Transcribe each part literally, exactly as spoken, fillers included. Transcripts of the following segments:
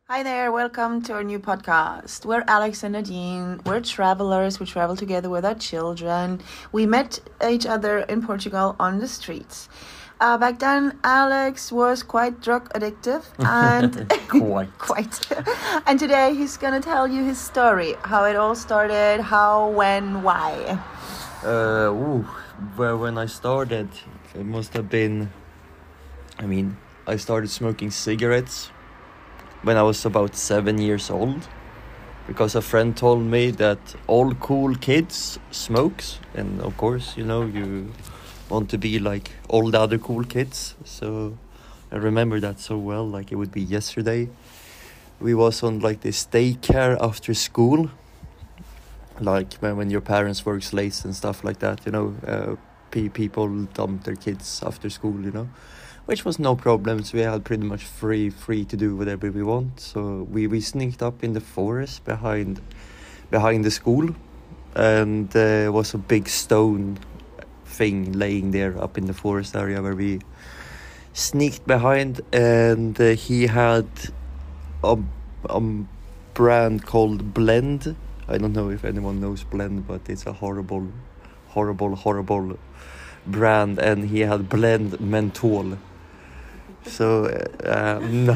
Hi there, welcome to our new podcast. We're Alex and Nadine. We're travelers. We travel together with our children. We met each other in Portugal on the streets. Uh, back then, Alex was quite drug addictive and Quite. quite. And today he's gonna tell you his story, how it all started, how, when, why. Uh, ooh, well, when I started, it must have been. I mean, I started smoking cigarettes when I was about seven years old, because a friend told me that all cool kids smokes, and of course, you know, you want to be like all the other cool kids. So I remember that so well, like it would be yesterday. We was on like this daycare after school, like when, when your parents works late and stuff like that, you know, uh, pe- people dump their kids after school, you know, which was no problem. So we had pretty much free free to do whatever we want. So we, we sneaked up in the forest behind behind the school, and there was a big stone thing laying there up in the forest area where we sneaked behind, and uh, he had a, a brand called Blend. I don't know if anyone knows Blend, but it's a horrible, horrible, horrible brand, and he had Blend Menthol. So, uh, no.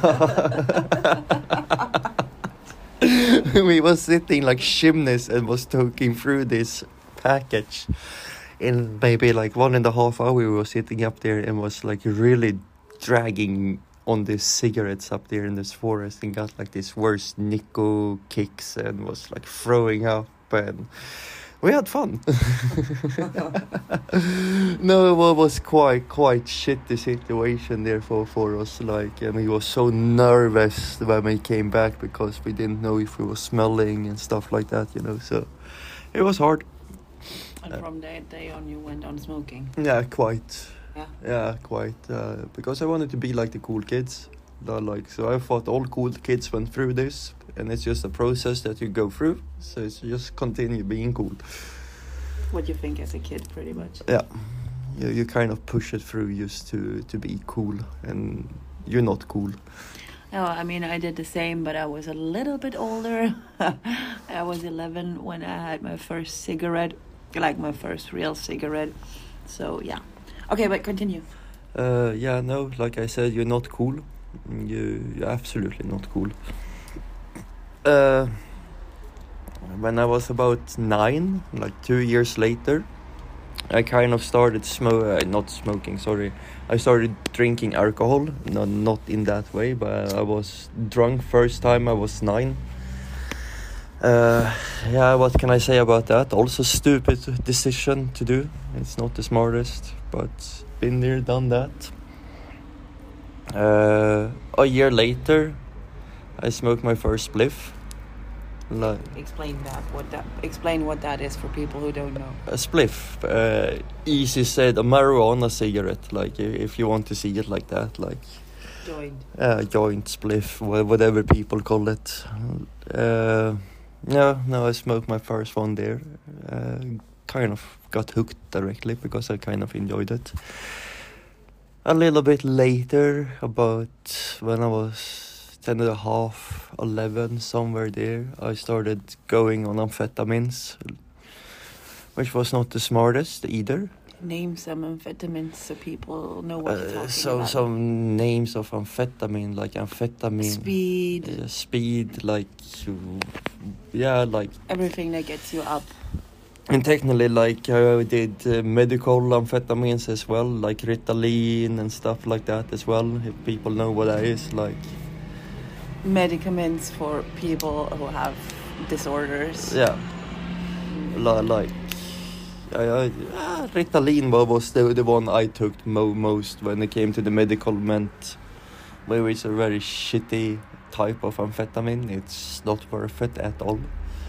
We was sitting like chimneys and was talking through this package. In maybe like one and a half hour, we were sitting up there and was like really dragging on these cigarettes up there in this forest, and got like this worst Nico kicks and was like throwing up, and we had fun. No, it was quite quite shitty situation there for, for us, like, and we was so nervous when we came back because we didn't know if we were smelling and stuff like that, you know, so it was hard. And from that day on, you went on smoking? Yeah, quite. Yeah? Yeah, quite. Uh, because I wanted to be like the cool kids. Uh, like, so I thought all cool kids went through this, and it's just a process that you go through. So it's just continue being cool. What you think as a kid, pretty much? Yeah. You, you kind of push it through just to, to be cool, and you're not cool. No, I mean, I did the same, but I was a little bit older. I was eleven when I had my first cigarette, like my first real cigarette. So, yeah. Okay, but continue. Uh, yeah, no, like I said, you're not cool. You, you're absolutely not cool. Uh, when I was about nine, like two years later, I kind of started smoke, uh, not smoking, sorry. I started drinking alcohol, no, not in that way, but I was drunk first time I was nine. Uh, yeah, what can I say about that? Also stupid decision to do. It's not the smartest, but been there, done that. Uh, a year later, I smoked my first spliff. Like, Explain that. What that? Explain what that is for people who don't know. a spliff, uh, easy said, a marijuana cigarette. Like, i- if you want to see it like that, like Joined. uh, joint spliff, wha- whatever people call it. Uh, no, no, I smoked my first one there. Uh, kind of got hooked directly because I kind of enjoyed it. A little bit later, about when I was ten and a half, eleven, somewhere there, I started going on amphetamines, which was not the smartest either. Name some amphetamines so people know what you're Uh, talking so about. some names of amphetamine, like amphetamine, Speed. uh, speed, like yeah, like. Everything that gets you up. And technically, like, I did uh, medical amphetamines as well, like Ritalin and stuff like that as well, if people know what that is, like. Medicaments for people who have disorders. Yeah. Li- like, I, I, ah, Ritalin wa- was the, the one I took mo- most when it came to the medical ment, where it's a very shitty type of amphetamine. It's not worth it at all.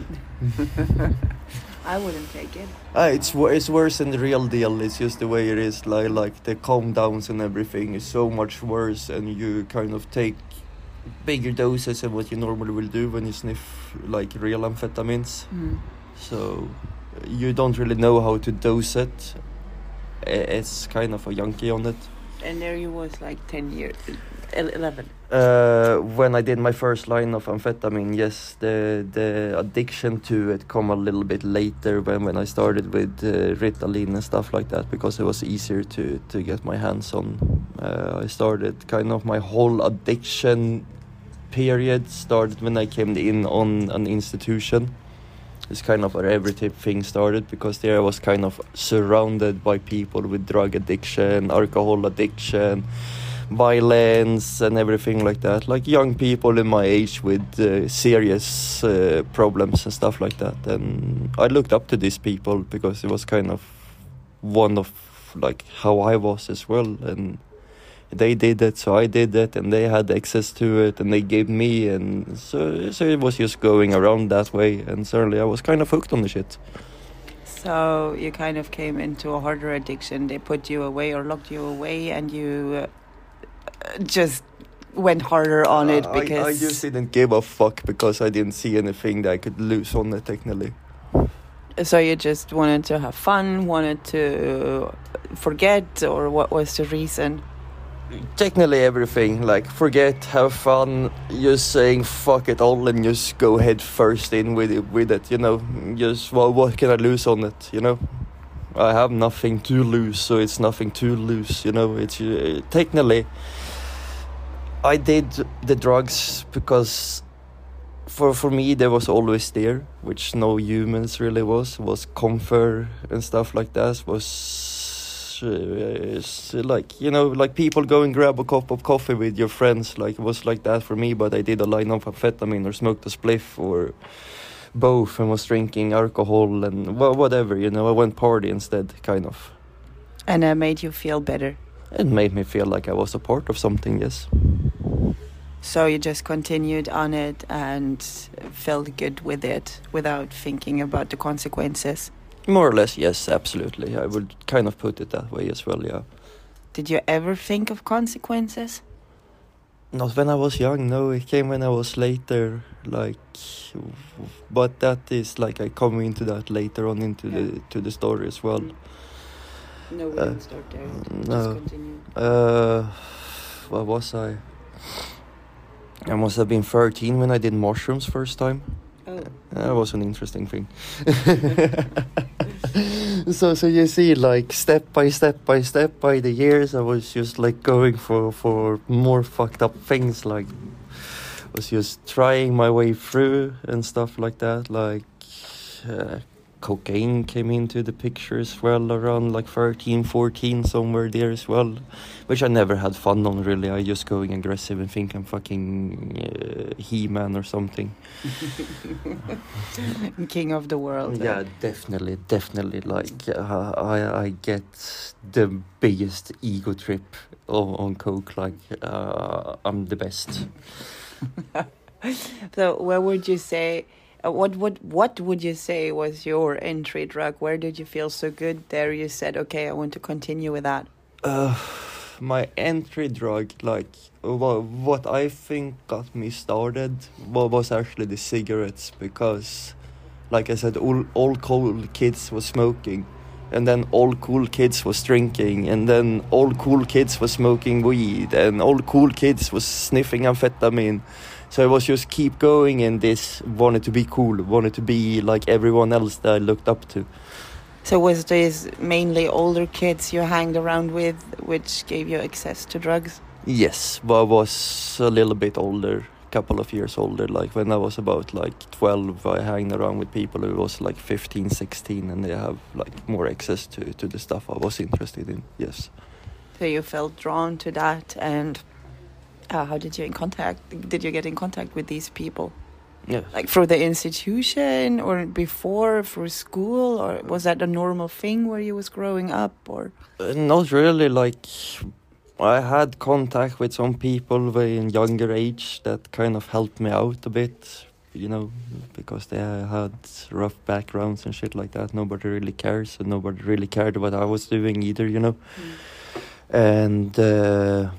I wouldn't take it. Ah, it's wor- it's worse than the real deal. It's just the way it is. Like like the calm downs and everything is so much worse, and you kind of take bigger doses than what you normally will do when you sniff like real amphetamines. Mm. So you don't really know how to dose it. I- It's kind of a junkie on it. And there you was like ten years, el- eleven. Uh, when I did my first line of amphetamine, yes, the the addiction to it come a little bit later when, when I started with uh, Ritalin and stuff like that, because it was easier to, to get my hands on. Uh, I started kind of my whole addiction period started when I came in on an institution. It's kind of where everything started, because there I was kind of surrounded by people with drug addiction, alcohol addiction, violence and everything like that, like young people in my age with uh, serious uh, problems and stuff like that. And I looked up to these people because it was kind of one of like how I was as well, and they did it, so I did it, and they had access to it, and they gave me, and so so it was just going around that way, and certainly I was kind of hooked on the shit. So you kind of came into a harder addiction. They put you away or locked you away, and you uh, just went harder on it Uh, because I, I just didn't give a fuck because I didn't see anything that I could lose on it technically. so you just wanted to have fun, wanted to forget, or what was the reason? Technically everything, like forget, have fun, just saying fuck it all and just go head first in with it, with it, you know, just well, what can I lose on it, you know? I have nothing to lose, so it's nothing to lose, you know. It's uh, technically I did the drugs because for for me there was always there, which no humans really was, was comfort and stuff like that, was uh, it's like, you know, like people go and grab a cup of coffee with your friends, like it was like that for me. But I did a line of amphetamine or smoked a spliff or both, and was drinking alcohol and well, whatever, you know. I went party instead, kind of. And that made you feel better. It made me feel like I was a part of something, yes. So you just continued on it and felt good with it without thinking about the consequences. More or less, yes, absolutely. I would kind of put it that way as well, yeah. Did you ever think of consequences? Not when I was young, no. It came when I was later, like, but that is like I come into that later on into Yeah. the to the story as well. No, we Uh, didn't start there. no. Just continue. Uh, what was I? I must have been thirteen when I did mushrooms first time. Oh. That was an interesting thing. so so you see, like step by step by step by the years, I was just like going for for more fucked up things, like was just trying my way through and stuff like that. Like uh, cocaine came into the picture as well around like thirteen, fourteen, somewhere there as well, which I never had fun on really. I just going aggressive and think I'm fucking uh, He-Man or something. King of the world. Yeah, definitely, definitely. Like uh, I, I get the biggest ego trip on, on coke. Like uh, I'm the best. So where would you say, uh, what, what, what would you say was your entry drug? Where did you feel so good there? You said, okay, I want to continue with that. Uh, my entry drug, like well, what I think got me started well, was actually the cigarettes, because like I said, all, all cool kids was smoking, and then all cool kids was drinking, and then all cool kids was smoking weed, and all cool kids was sniffing amphetamine. So I was just keep going in this, wanted to be cool, wanted to be like everyone else that I looked up to. So was this mainly older kids you hanged around with, which gave you access to drugs? Yes, but I was a little bit older, couple of years older. Like when I was about like twelve, I hung around with people who was like fifteen, sixteen, and they have like more access to, to the stuff I was interested in, yes. So you felt drawn to that, and uh, how did you in contact? Did you get in contact with these people? Yeah. Like through the institution, or before, through school, or was that a normal thing where you was growing up, or? Uh, not really, like I had contact with some people way in younger age that kind of helped me out a bit, you know, because they had rough backgrounds and shit like that. Nobody really cares, and nobody really cared what I was doing either, you know. Mm. And uh,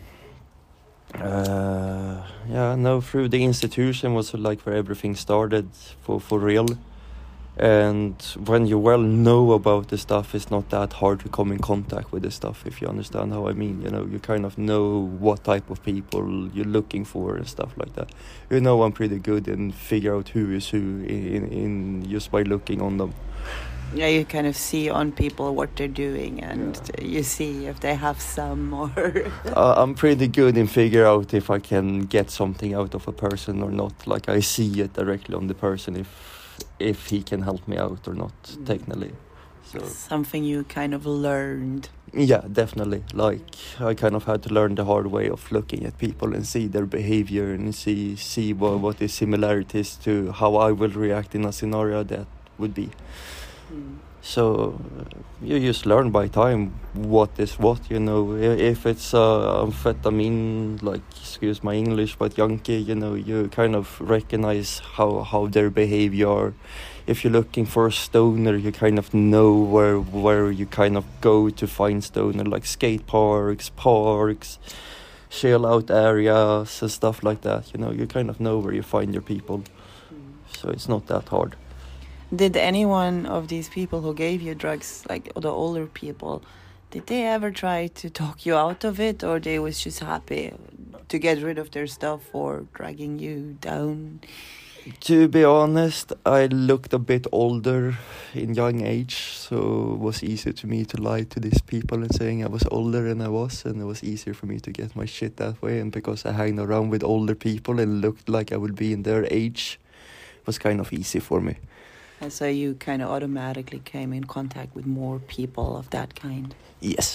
uh, yeah, no, through the institution was like where everything started for, for real. And when you well know about the stuff, it's not that hard to come in contact with the stuff, if you understand how I mean. You know, you kind of know what type of people you're looking for and stuff like that. You know, I'm pretty good in figure out who is who in, in just by looking on them. Yeah, you kind of see on people what they're doing, and yeah. you see if they have some or... uh, I'm pretty good in figure out if I can get something out of a person or not. Like, I see it directly on the person if if he can help me out or not, mm. technically. So something you kind of learned. Yeah, definitely. Like, I kind of had to learn the hard way of looking at people and see their behavior and see see what, what the similarities to how I will react in a scenario that would be. Mm. So uh, you just learn by time what is what, you know. If it's uh, amphetamine, like, excuse my English, but Yankee, you know, you kind of recognize how, how their behavior. If you're looking for a stoner, you kind of know where where you kind of go to find stoner, like skate parks, parks, chill out areas and stuff like that. You know, you kind of know where you find your people. Mm. So it's not that hard. Did any one of these people who gave you drugs, like the older people, did they ever try to talk you out of it, or they was just happy to get rid of their stuff or dragging you down? To be honest, I looked a bit older in young age, so it was easier to me to lie to these people and saying I was older than I was, and it was easier for me to get my shit that way. And because I hang around with older people and looked like I would be in their age, it was kind of easy for me. And so you kind of automatically came in contact with more people of that kind? Yes.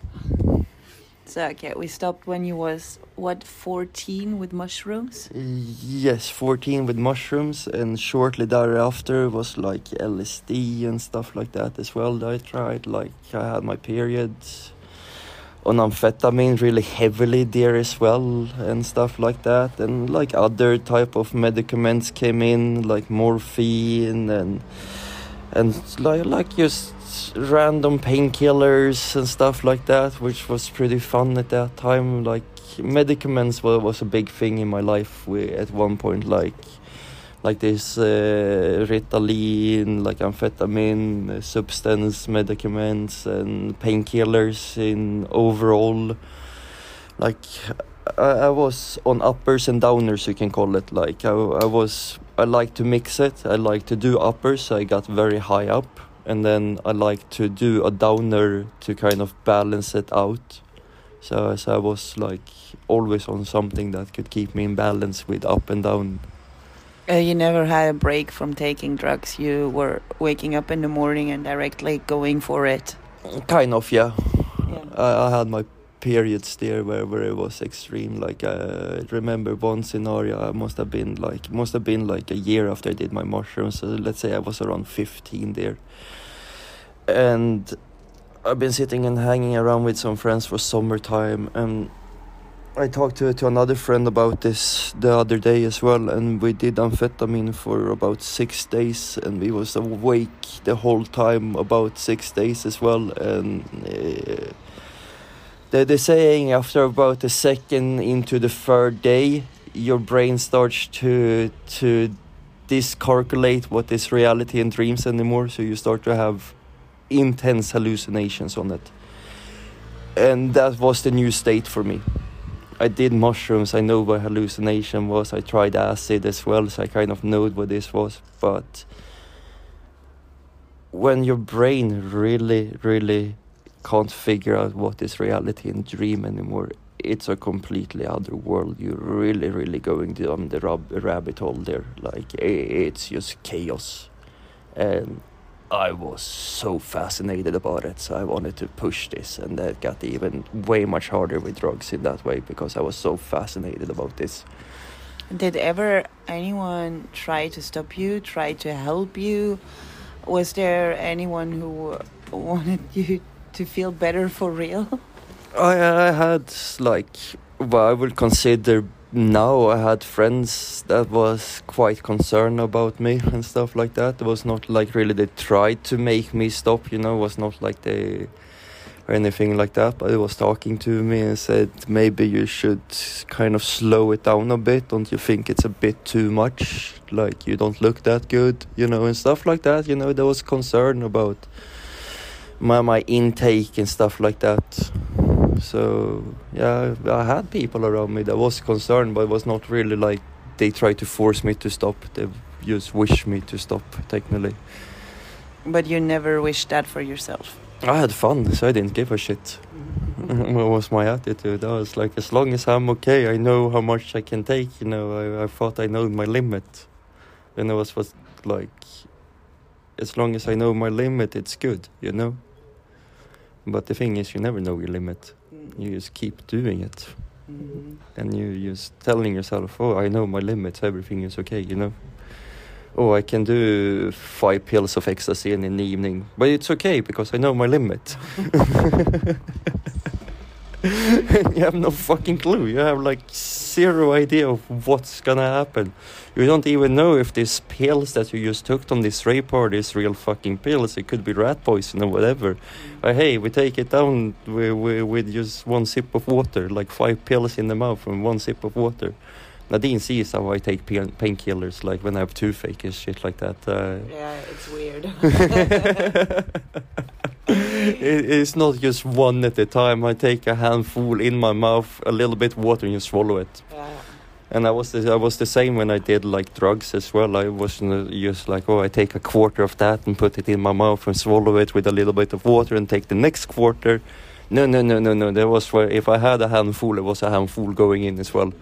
So, okay, we stopped when you was, what, fourteen with mushrooms? Yes, fourteen with mushrooms, and shortly thereafter was like L S D and stuff like that as well that I tried. Like, I had my periods on amphetamine really heavily there as well and stuff like that, and like other type of medicaments came in, like morphine and and like like just random painkillers and stuff like that, which was pretty fun at that time. Like, medicaments was, was a big thing in my life we, at one point, like like this uh, Ritalin, like amphetamine, uh, substance medicaments and painkillers in overall. Like, I, I was on uppers and downers, you can call it. Like, I, I was, I like to mix it. I like to do uppers, so I got very high up. And then I like to do a downer to kind of balance it out. So, so I was like always on something that could keep me in balance with up and down. Uh, you never had a break from taking drugs. You were waking up in the morning and directly going for it. Kind of, yeah. yeah. I, I had my periods there where, where it was extreme. Like, uh, I remember one scenario. I must have been like must have been like a year after I did my mushrooms. So let's say I was around fifteen there, and I've been sitting and hanging around with some friends for summertime, and I talked to to another friend about this the other day as well, and we did amphetamine for about six days, and we was awake the whole time about six days as well. And uh, they they're saying after about a second into the third day, your brain starts to to discalculate what is reality and dreams anymore. So you start to have intense hallucinations on it, and that was the new state for me. I did mushrooms, I know what hallucination was, I tried acid as well, so I kind of know what this was. But when your brain really, really can't figure out what is reality and dream anymore, it's a completely other world. You're really, really going down the rab- rabbit hole there. Like, it's just chaos. And I was so fascinated about it, so I wanted to push this, and that got even way much harder with drugs in that way, because I was so fascinated about this. Did ever anyone try to stop you, try to help you? Was there anyone who wanted you to feel better for real? I, I had, like, what I would consider now, I had friends that was quite concerned about me and stuff like that. It was not like really they tried to make me stop, you know. It was not like they or anything like that, but he was talking to me and said, maybe you should kind of slow it down a bit. Don't you think it's a bit too much? Like, you don't look that good, you know, and stuff like that. You know, there was concern about my my intake and stuff like that. So, yeah, I had people around me that was concerned, but it was not really like they tried to force me to stop. They just wished me to stop, technically. But you never wished that for yourself? I had fun, so I didn't give a shit. What was my attitude? I was like, as long as I'm okay, I know how much I can take, you know, I, I thought I know my limit. And it was, was like, as long as I know my limit, it's good, you know? But the thing is, you never know your limit. You just keep doing it. Mm-hmm. And you just telling yourself, oh, I know my limits, everything is okay, you know? Oh, I can do five pills of ecstasy in the evening, but it's okay because I know my limit. You have no fucking clue. You have like zero idea of what's gonna happen. You don't even know if these pills that you just took on this rape party is real fucking pills. It could be rat poison or whatever. But hey, we take it down with, with, with just one sip of water, like five pills in the mouth and one sip of water. Nadine sees how I take pain painkillers, like when I have toothache and shit like that. Uh, yeah, it's weird. it, it's not just one at a time. I take a handful in my mouth, a little bit water, and you swallow it. Yeah. And I was the, I was the same when I did like drugs as well. I wasn't just like, oh, I take a quarter of that and put it in my mouth and swallow it with a little bit of water and take the next quarter. No, no, no, no, no. There was where if I had a handful, it was a handful going in as well.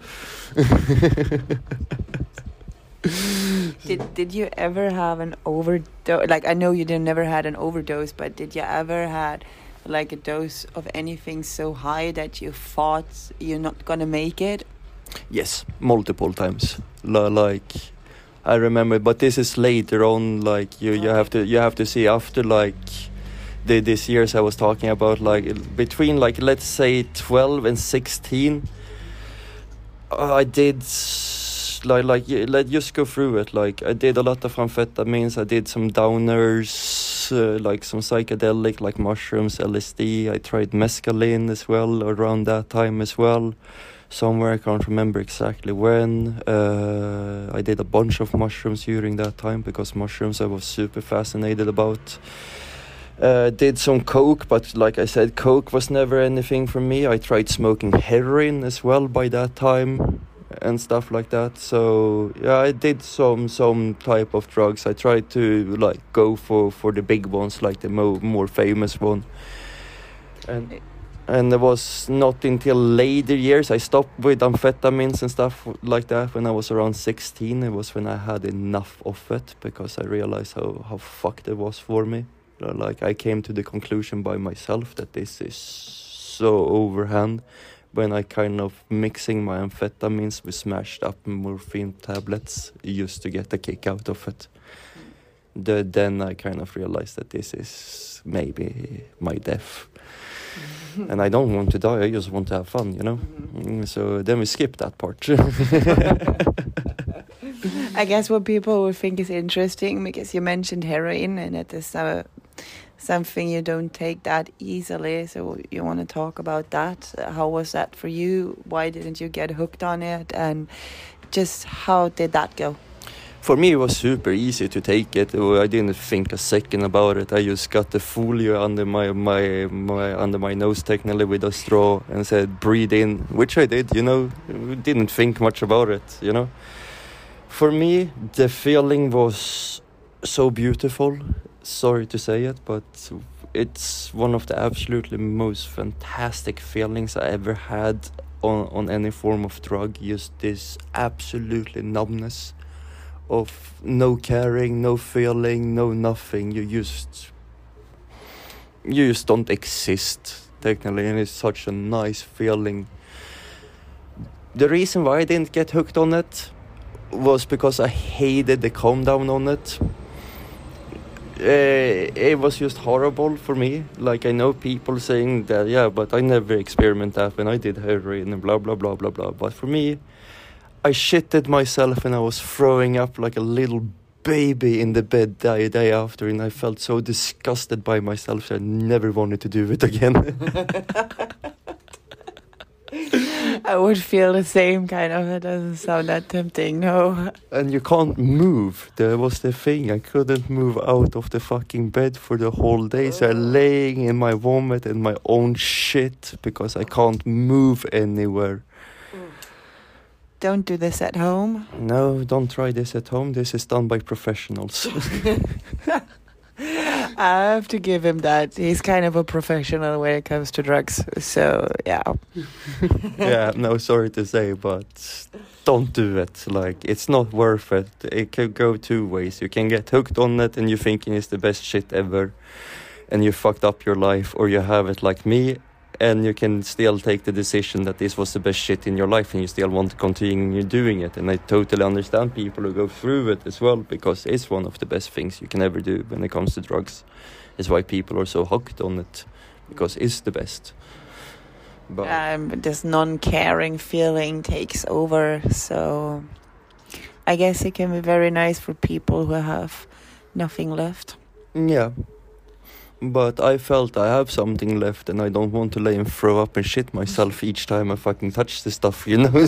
did Did you ever have an overdose? Like, I know you did never had an overdose, but did you ever had like a dose of anything so high that you thought you're not gonna make it? Yes, multiple times. L- like I remember, but this is later on. Like you, you have to you have to see after like. The, these years I was talking about, like between like let's say twelve and sixteen, uh, I did like like let's just go through it. Like I did a lot of amphetamines, I did some downers, uh, like some psychedelic like mushrooms, L S D. I tried mescaline as well around that time as well. Somewhere I can't remember exactly when. Uh, I did a bunch of mushrooms during that time because mushrooms I was super fascinated about. Uh, did some coke, but like I said, coke was never anything for me. I tried smoking heroin as well by that time and stuff like that. So yeah, I did some some type of drugs. I tried to like go for, for the big ones, like the mo- more famous one. And and it was not until later years I stopped with amphetamines and stuff like that. When I was around sixteen, it was when I had enough of it because I realized how, how fucked it was for me. Like I came to the conclusion by myself that this is so overhand when I kind of mixing my amphetamines with smashed up morphine tablets just to get a kick out of it. The, then I kind of realized that this is maybe my death. And I don't want to die, I just want to have fun, you know? Mm, so then we skip that part. I guess what people would think is interesting, because you mentioned heroin and it is uh, something you don't take that easily. So you want to talk about that. How was that for you? Why didn't you get hooked on it? And just how did that go? For me, it was super easy to take it. I didn't think a second about it. I just got the folio under my, my, my under my nose, technically, with a straw, and said, breathe in, which I did, you know. Didn't think much about it, you know. For me, the feeling was so beautiful. Sorry to say it, but it's one of the absolutely most fantastic feelings I ever had on, on any form of drug. Just this absolutely numbness of no caring, no feeling, no nothing. You just you just don't exist, technically, and it's such a nice feeling. The reason why I didn't get hooked on it was because I hated the calm down on it. Uh, it was just horrible for me. Like, I know people saying that, yeah, but I never experimented that when I did heroin and blah, blah, blah, blah, blah. But for me, I shitted myself and I was throwing up like a little baby in the bed day day after, and I felt so disgusted by myself that I never wanted to do it again. I would feel the same kind of. It doesn't sound that tempting, no. And you can't move. That was the thing. I couldn't move out of the fucking bed for the whole day. So I'm laying in my vomit and my own shit because I can't move anywhere. Don't do this at home. No, don't try this at home. This is done by professionals. I have to give him that. He's kind of a professional when it comes to drugs. So, yeah. Yeah, no, sorry to say, but don't do it. Like, it's not worth it. It could go two ways. You can get hooked on it and you're thinking it's the best shit ever, and you fucked up your life, or you have it like me, and you can still take the decision that this was the best shit in your life and you still want to continue doing it. And I totally understand people who go through it as well, because it's one of the best things you can ever do when it comes to drugs. It's why people are so hooked on it, because it's the best. But um, this non-caring feeling takes over. So I guess it can be very nice for people who have nothing left. yeah. But I felt I have something left, and I don't want to lay and throw up and shit myself each time I fucking touch the stuff, you know?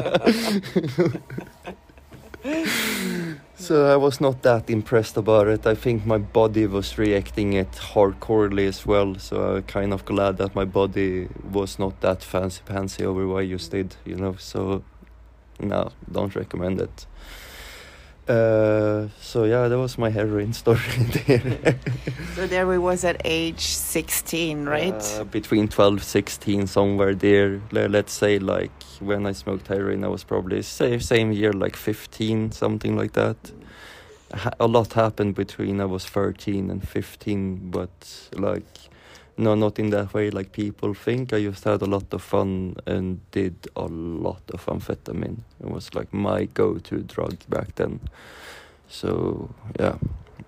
So I was not that impressed about it. I think my body was reacting it hardcorely as well, so I'm kind of glad that my body was not that fancy-pantsy over what I just did, you know? So, no, don't recommend it. Uh, so yeah, that was my heroin story there. So there we was at age sixteen, right? Uh, between twelve, sixteen, somewhere there. Le- Let's say like when I smoked heroin, I was probably same, same year, like fifteen, something like that. Ha- a lot happened between I was thirteen and fifteen, but like, no, not in that way like people think. I just had a lot of fun and did a lot of amphetamine. It was like my go-to drug back then. So, yeah.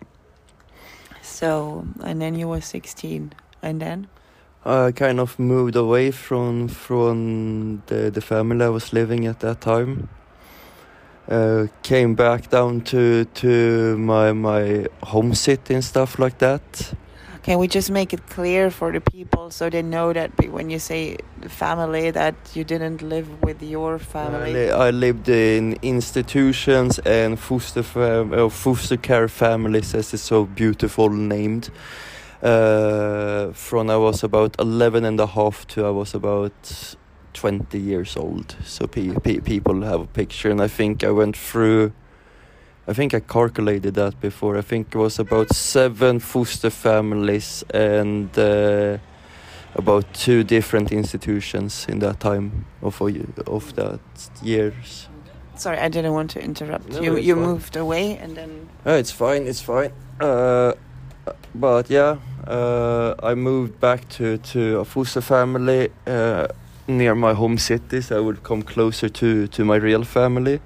So, and then you were sixteen, and then? I kind of moved away from from the, the family I was living at that time. Uh, came back down to to my my home city and stuff like that. Can we just make it clear for the people so they know that be- when you say the family, that you didn't live with your I, family? li- I lived in institutions and foster fam- uh, foster care families, as it's so beautiful named. Uh, from I was about eleven and a half to I was about twenty years old. So pe- pe- people have a picture, and I think I went through. I think I calculated that before. I think it was about seven foster families and uh, about two different institutions in that time of a, of that years. Sorry, I didn't want to interrupt. No, you it's you fine. moved away and then... Oh, it's fine, it's fine. Uh, but yeah, uh, I moved back to, to a foster family uh, near my home city, so I would come closer to, to my real family.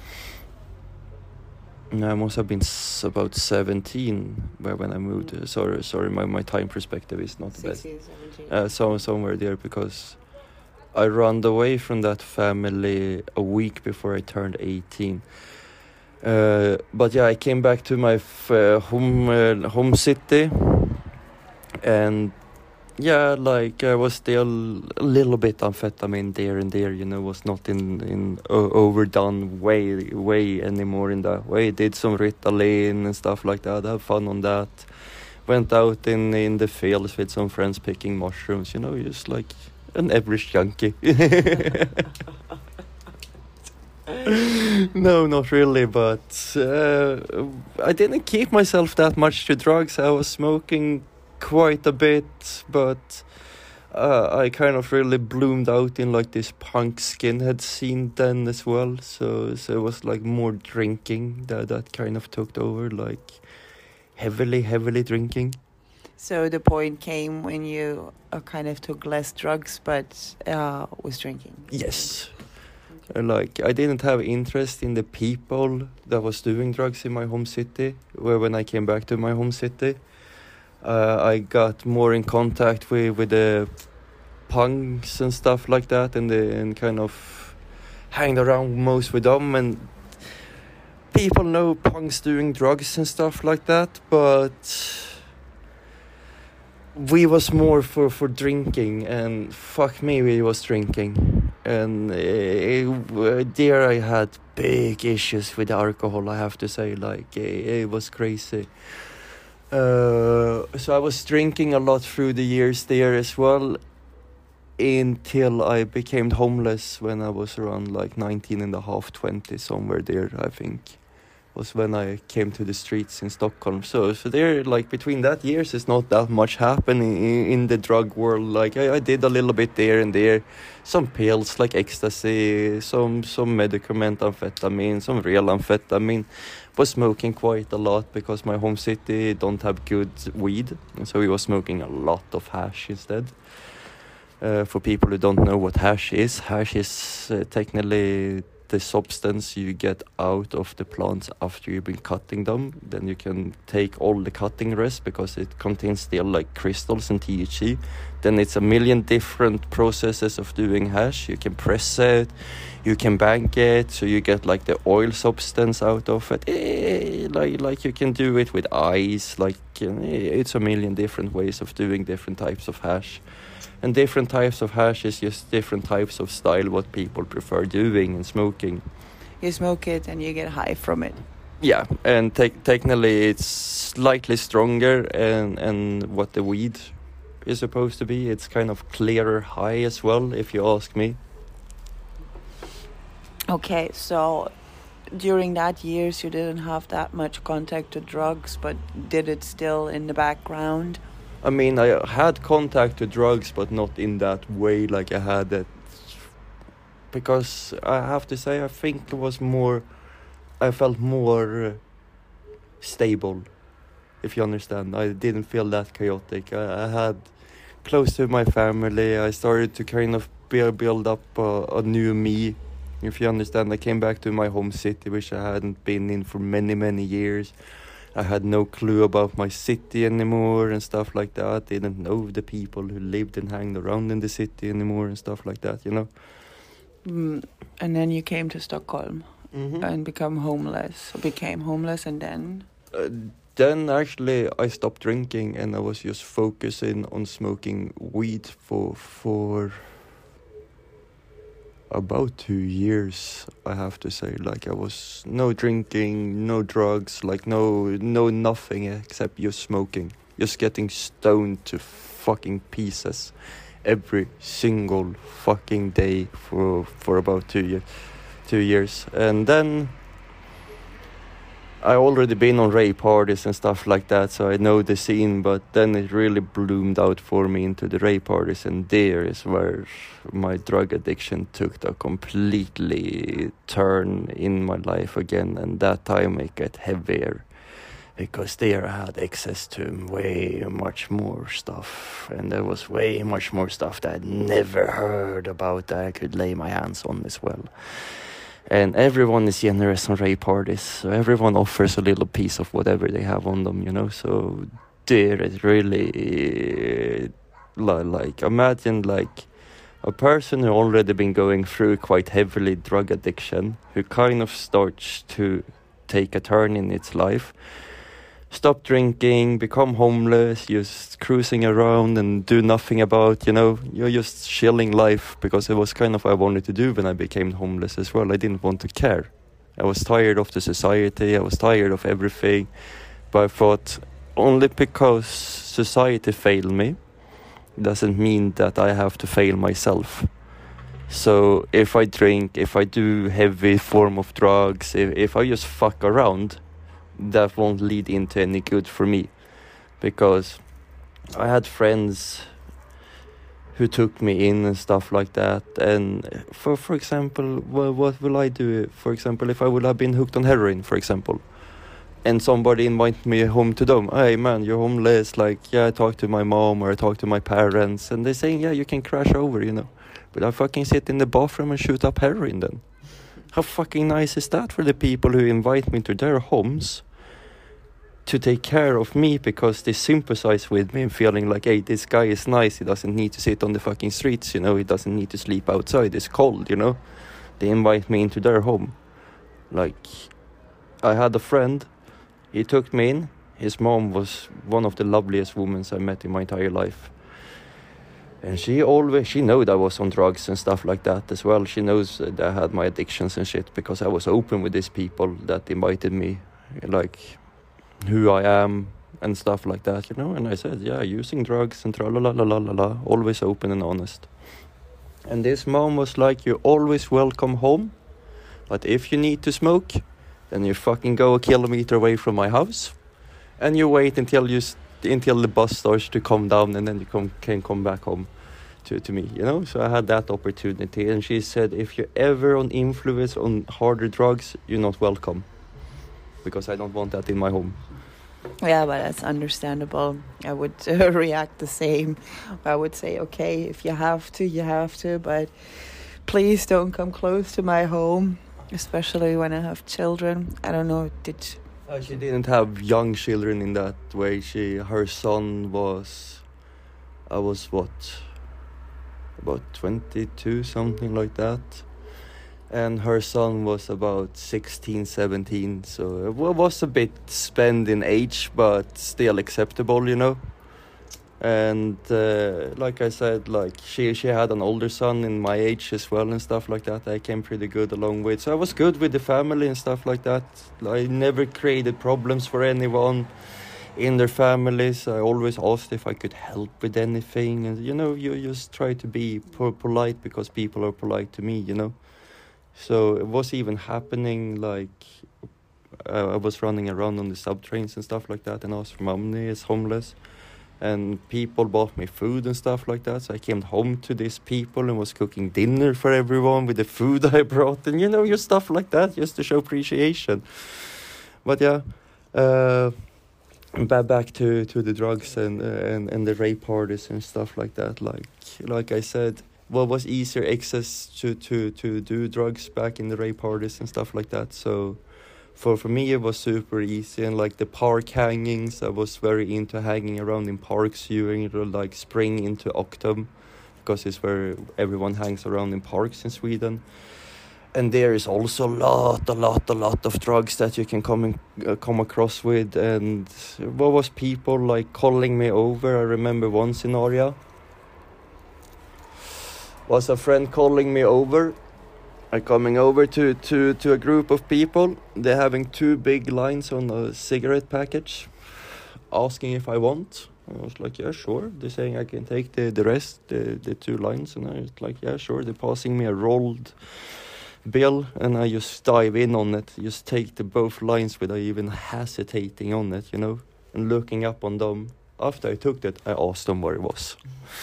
I must have been s- about seventeen where when I moved. Uh, sorry, sorry, my, my time perspective is not the best. sixteen, seventeen. Uh, so somewhere there, because I ran away from that family a week before I turned eighteen. Uh, but yeah, I came back to my f- uh, home uh, home city, and yeah, like I was still a little bit amphetamine there and there, you know, was not in in o- overdone way way anymore in that way. Did some Ritalin and stuff like that. Have fun on that. Went out in in the fields with some friends picking mushrooms, you know, just like an average junkie. No, not really, but uh, I didn't keep myself that much to drugs. I was smoking quite a bit, but uh, I kind of really bloomed out in like this punk skinhead scene then as well. So, so it was like more drinking that that kind of took over, like heavily, heavily drinking. So the point came when you uh, kind of took less drugs, but uh, was drinking. Yes. Uh, Like, I didn't have interest in the people that was doing drugs in my home city. Where when I came back to my home city, uh, I got more in contact with with the punks and stuff like that, and the, and kind of hanged around most with them. And people know punks doing drugs and stuff like that, but we was more for, for drinking, and fuck me, we was drinking. And uh, there I had big issues with alcohol, I have to say. Like, it, it was crazy. Uh, so I was drinking a lot through the years there as well, until I became homeless when I was around like nineteen and a half, twenty, somewhere there, I think, was when I came to the streets in Stockholm. So, so there, like, between that years, it's not that much happening in, in the drug world. Like, I, I did a little bit there and there, some pills like ecstasy, some some medicament amphetamine, some real amphetamine. Was smoking quite a lot because my home city don't have good weed, and so we was smoking a lot of hash instead. Uh, for people who don't know what hash is, hash is uh, technically the substance you get out of the plants after you've been cutting them. Then you can take all the cutting rest because it contains still like crystals and T H C. Then it's a million different processes of doing hash. You can press it, you can bank it, so you get like the oil substance out of it. Eh, like like you can do it with ice. Like eh, it's a million different ways of doing different types of hash. And different types of hash is just different types of style what people prefer doing and smoking. You smoke it and you get high from it. Yeah, and te- technically it's slightly stronger and, and what the weed is supposed to be. It's kind of clearer high as well, if you ask me. Okay, so during that years you didn't have that much contact to drugs, but did it still in the background? I mean, I had contact to drugs, but not in that way like I had it. Because I have to say, I think it was more, I felt more uh, stable, if you understand. I didn't feel that chaotic. I, I had close to my family. I started to kind of build, build up a, a new me, if you understand. I came back to my home city, which I hadn't been in for many, many years. I had no clue about my city anymore and stuff like that. Didn't know the people who lived and hanged around in the city anymore and stuff like that, you know. Mm, and then you came to Stockholm Mm-hmm. and become homeless. Became homeless and then? Uh, then actually I stopped drinking and I was just focusing on smoking weed for for about two years, I have to say. Like, I was no drinking, no drugs, like no no nothing except just smoking, just getting stoned to fucking pieces every single fucking day for for about two years two years and then I already been on rave parties and stuff like that, so I know the scene, but then it really bloomed out for me into the rave parties, and there is where my drug addiction took a completely turn in my life again, and that time it got heavier, because there I had access to way much more stuff, and there was way much more stuff that I'd never heard about that I could lay my hands on as well. And everyone is generous on rave parties, so everyone offers a little piece of whatever they have on them, you know. So there is really, uh, like, imagine like a person who already been going through quite heavily drug addiction, who kind of starts to take a turn in its life, stop drinking, become homeless, just cruising around and do nothing about, you know, you're just chilling life, because it was kind of what I wanted to do when I became homeless as well. I didn't want to care. I was tired of the society, I was tired of everything, but I thought, only because society failed me doesn't mean that I have to fail myself. So if I drink, if I do heavy form of drugs, if, if I just fuck around, that won't lead into any good for me, because I had friends who took me in and stuff like that. And for for example, well, what will I do? For example, if I would have been hooked on heroin, for example, and somebody invited me home to them, hey man, you're homeless, like, yeah, I talked to my mom or I talked to my parents, and they're saying, yeah, you can crash over, you know, but I fucking sit in the bathroom and shoot up heroin then. How fucking nice is that for the people who invite me to their homes to take care of me, because they sympathize with me and feeling like, hey, this guy is nice, he doesn't need to sit on the fucking streets, you know, he doesn't need to sleep outside, it's cold, you know. They invite me into their home. Like, I had a friend. He took me in. His mom was one of the loveliest women I met in my entire life. And she always, she knew that I was on drugs and stuff like that as well. She knows that I had my addictions and shit because I was open with these people that invited me, like who I am and stuff like that, you know. And I said, yeah, using drugs and tra la la la la la la, always open and honest. And this mom was like, you're always welcome home, but if you need to smoke, then you fucking go a kilometer away from my house, and you wait until you st- until the bus starts to come down, and then you come, can come back home to, to me, you know. So I had that opportunity, and she said, if you're ever on influence on harder drugs, you're not welcome, because I don't want that in my home. Yeah, but that's understandable. I would uh, react the same. I would say, okay, if you have to, you have to, but please don't come close to my home, especially when I have children. I don't know, did... Uh, she didn't have young children in that way. She, her son was, I was what, about twenty-two, something like that. And her son was about sixteen, seventeen, so it was a bit spent in age, but still acceptable, you know. And uh, like I said, like she she had an older son in my age as well and stuff like that. I came pretty good along with, so I was good with the family and stuff like that. I never created problems for anyone in their families. I always asked if I could help with anything, and you know, you just try to be po- polite because people are polite to me, you know. So it was even happening, like uh, I was running around on the subtrains and stuff like that, and asked for money as homeless. And people bought me food and stuff like that. So I came home to these people and was cooking dinner for everyone with the food I brought. And, you know, just stuff like that, just to show appreciation. But, yeah, uh, back back to, to the drugs and, uh, and and the rape parties and stuff like that. Like like I said, what was easier access to, to, to do drugs back in the rape parties and stuff like that. So... For for me, it was super easy, and like the park hangings, I was very into hanging around in parks during like spring into autumn, because it's where everyone hangs around in parks in Sweden. And there is also a lot, a lot, a lot of drugs that you can come in, uh, come across with. And what was people like calling me over? I remember one scenario. Was a friend calling me over. I'm coming over to, to, to a group of people. They're having two big lines on a cigarette package, asking if I want. I was like, yeah, sure. They're saying I can take the, the rest, the, the two lines. And I was like, yeah, sure. They're passing me a rolled bill, and I just dive in on it. Just take the both lines without even hesitating on it, you know, and looking up on them. After I took that, I asked them where it was.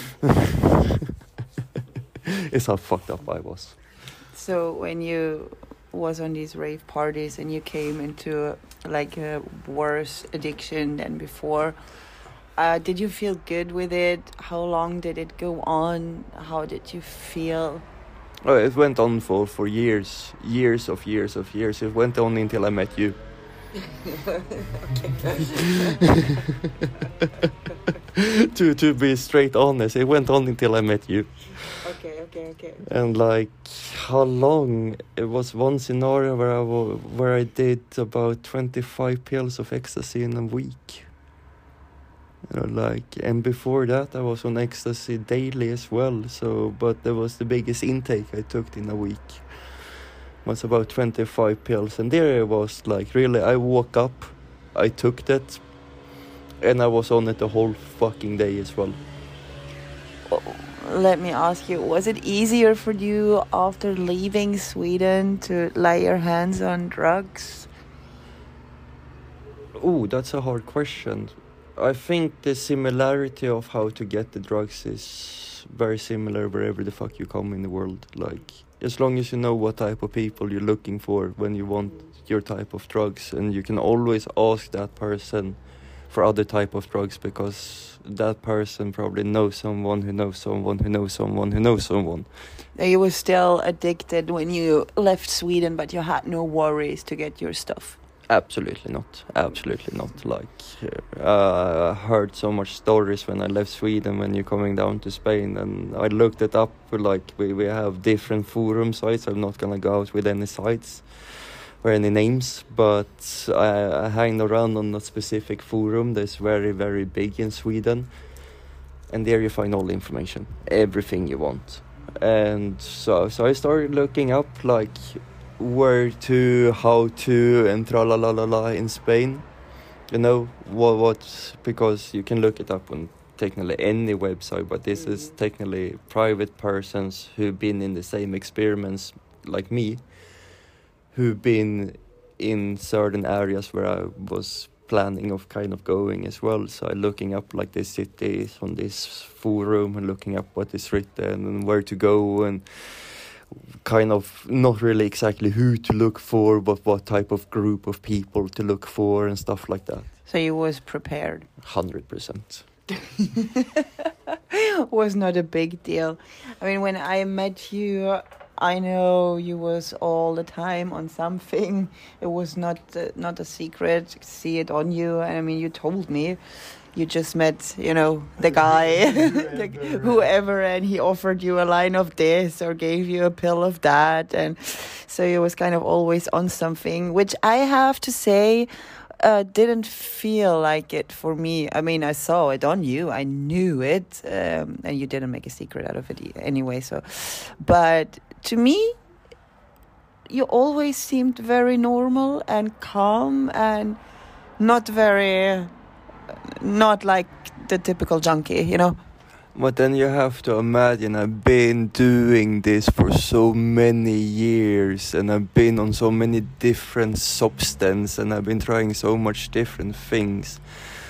It's how fucked up I was. So when you was on these rave parties and you came into like a worse addiction than before, uh, did you feel good with it? How long did it go on? How did you feel? Oh, it went on for, for years, years of years of years. It went on until I met you. to to be straight honest, it went on until I met you. Okay, okay, okay. And like, how long? It was one scenario where I w- where I did about twenty-five pills of ecstasy in a week. You know, like, and before that I was on ecstasy daily as well. So, but that was the biggest intake I took in a week. It was about twenty-five pills, and there it was like really. I woke up, I took that, and I was on it the whole fucking day as well. Let me ask you, was it easier for you after leaving Sweden to lay your hands on drugs? Oh, that's a hard question. I think the similarity of how to get the drugs is very similar wherever the fuck you come in the world. Like, as long as you know what type of people you're looking for when you want your type of drugs, and you can always ask that person for other type of drugs, because that person probably knows someone who knows someone who knows someone who knows someone. You were still addicted when you left Sweden, but you had no worries to get your stuff. Absolutely not. Absolutely not. Like, uh, I heard so much stories when I left Sweden when you're coming down to Spain, and I looked it up. Like, we, we have different forum sites. I'm not gonna go out with any sites. or any names, but I, I hang around on a specific forum that's very, very big in Sweden. And there you find all the information, everything you want. And so so I started looking up like where to, how to, and tra la la la la in Spain. You know, what, what, because you can look it up on technically any website, but this mm. is technically private persons who've been in the same experiments like me, who've been in certain areas where I was planning of kind of going as well. So I'm looking up like the cities on this forum and looking up what is written and where to go, and kind of not really exactly who to look for, but what type of group of people to look for and stuff like that. So you was prepared? one hundred percent. Was not a big deal. I mean, when I met you, I know you was all the time on something. It was not uh, not a secret. See it on you. And I mean, you told me you just met, you know, the guy, the, whoever, and he offered you a line of this or gave you a pill of that. And so you was kind of always on something, which I have to say uh, didn't feel like it for me. I mean, I saw it on you. I knew it. Um, and you didn't make a secret out of it anyway. So, but to me, you always seemed very normal and calm and not very, not like the typical junkie, you know. But then you have to imagine I've been doing this for so many years, and I've been on so many different substances, and I've been trying so much different things.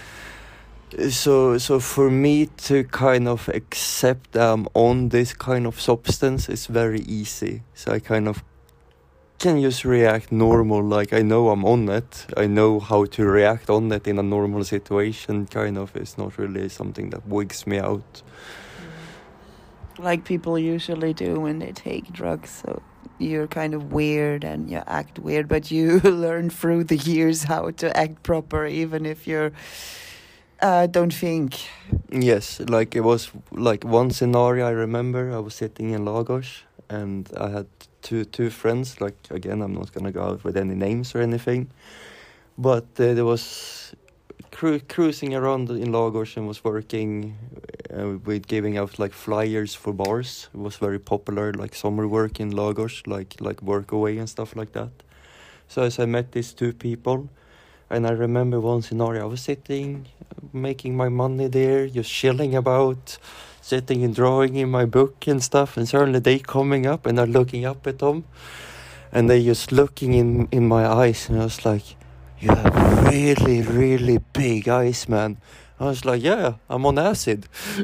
So so for me to kind of accept I'm on this kind of substance is very easy. So I kind of can just react normal, like I know I'm on it. I know how to react on it in a normal situation, kind of. It's not really something that wigs me out. Like people usually do when they take drugs. So you're kind of weird and you act weird, but you learn through the years how to act proper, even if you're Uh, don't think. Yes, like it was like one scenario I remember. I was sitting in Lagos and I had two two friends. Like again, I'm not gonna go out with any names or anything, but uh, there was cru- cruising around in Lagos and was working uh, with giving out like flyers for bars. It was very popular, like summer work in Lagos, like like work away and stuff like that. So as I met these two people. And I remember one scenario, I was sitting, making my money there, just chilling about, sitting and drawing in my book and stuff, and suddenly they coming up and I'm looking up at them, and they just looking in, in my eyes, and I was like, you have really, really big eyes, man. I was like, yeah, I'm on acid.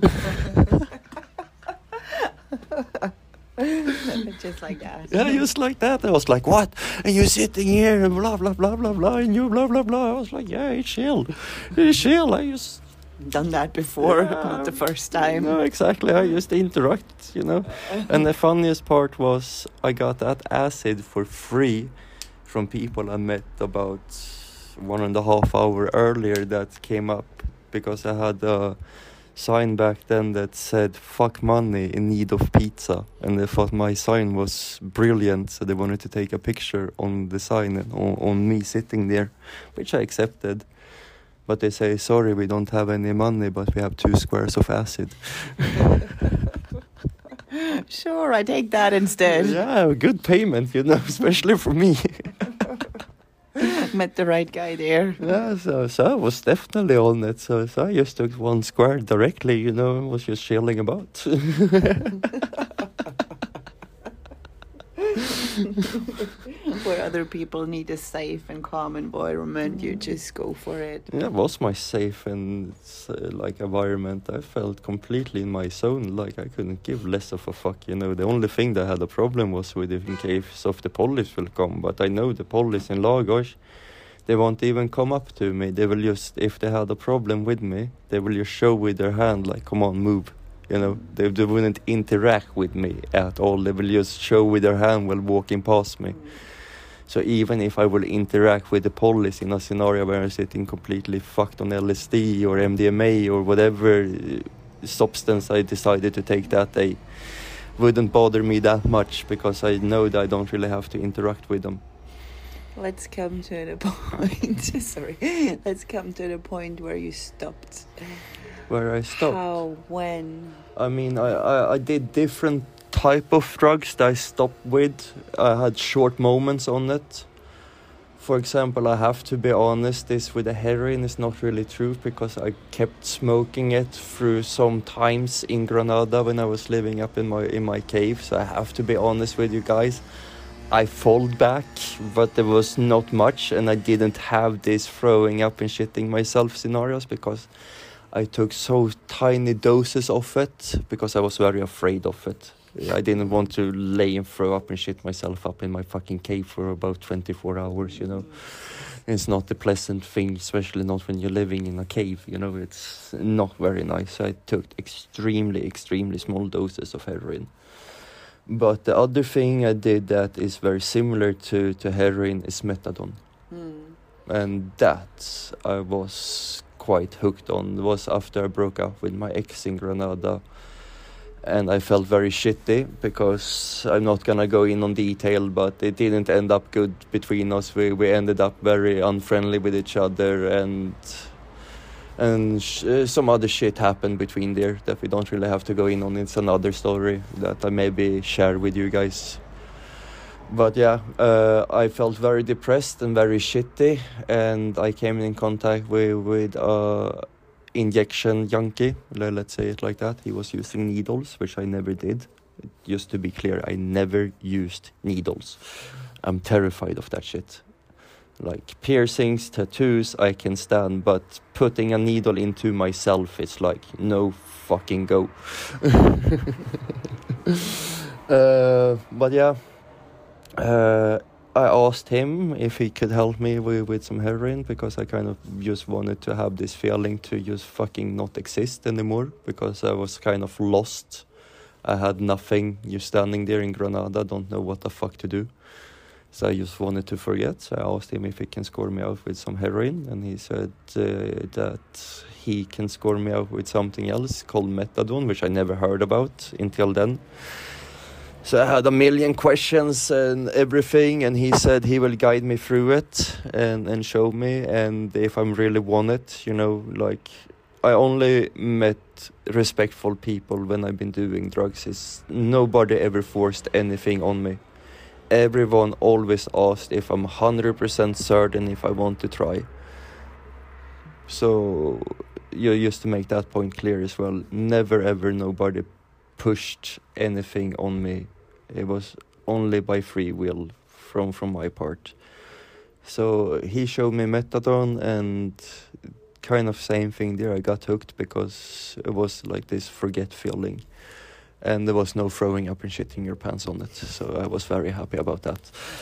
Just like that. Yeah, just like that. I was like, what? And you're sitting here and blah, blah, blah, blah, blah, and you blah, blah, blah. I was like, yeah, it's chill. It's chill. I just... Done that before, yeah, not the first time. No, exactly. I just interact, you know. And the funniest part was I got that acid for free from people I met about one and a half hour earlier that came up because I had a sign back then that said fuck money in need of pizza, and they thought my sign was brilliant, so they wanted to take a picture on the sign and on, on me sitting there, which I accepted, but they say sorry, we don't have any money, but we have two squares of acid. Sure, I take that instead. Yeah, good payment, you know, especially for me. Met the right guy there. Yeah, so, so I was definitely on it. So, so I just took one square directly, you know, and was just chilling about. Where other people need a safe and calm environment, you just go for it. Yeah, it was my safe and uh, like environment. I felt completely in my zone, like I couldn't give less of a fuck, you know. The only thing that I had a problem was with if in case of the police will come, but I know the police in Lagos, they won't even come up to me. They will just, if they had a problem with me, they will just show with their hand, like, come on, move. You know, they, they wouldn't interact with me at all. They will just show with their hand while walking past me. So even if I will interact with the police in a scenario where I'm sitting completely fucked on L S D or M D M A or whatever substance I decided to take that day, wouldn't bother me that much because I know that I don't really have to interact with them. let's come to the point. Sorry. Let's come to the point where you stopped. Where I stopped? How? When? I mean, I, I, I did different type of drugs that I stopped with. I had short moments on it. For example, I have to be honest, this with the heroin is not really true because I kept smoking it through some times in Granada when I was living up in my in my cave. So I have to be honest with you guys. I fall back, but there was not much, and I didn't have this throwing up and shitting myself scenarios because I took so tiny doses of it because I was very afraid of it. I didn't want to lay and throw up and shit myself up in my fucking cave for about twenty-four hours, you know. It's not a pleasant thing, especially not when you're living in a cave, you know. It's not very nice. I took extremely, extremely small doses of heroin. But the other thing I did that is very similar to, to heroin is methadone. Mm. And that I was quite hooked on. It was after I broke up with my ex in Granada. And I felt very shitty because I'm not gonna go in on detail, but it didn't end up good between us. We we ended up very unfriendly with each other, and and sh- uh, some other shit happened between there that we don't really have to go in on. It's another story that I maybe share with you guys. But yeah, uh, I felt very depressed and very shitty, and I came in contact with with uh. injection junkie, let's say it like that. He was using needles, which I never did. Just to be clear, I never used needles. I'm terrified of that shit. Like piercings, tattoos, I can stand, but putting a needle into myself, it's like, no fucking go. uh, but yeah, uh, I asked him if he could help me with, with some heroin because I kind of just wanted to have this feeling to just fucking not exist anymore because I was kind of lost. I had nothing. You're standing there in Granada, don't know what the fuck to do. So I just wanted to forget. So I asked him if he can score me out with some heroin, and he said uh, that he can score me out with something else called methadone, which I never heard about until then. So I had a million questions and everything, and he said he will guide me through it and, and show me, and if I really want it, you know, like, I only met respectful people when I've been doing drugs. It's, nobody ever forced anything on me. Everyone always asked if I'm one hundred percent certain if I want to try. So, you just to make that point clear as well, never ever nobody pushed anything on me. It was only by free will from, from my part. So he showed me methadone, and kind of same thing there. I got hooked because it was like this forget feeling. And there was no throwing up and shitting your pants on it. So I was very happy about that.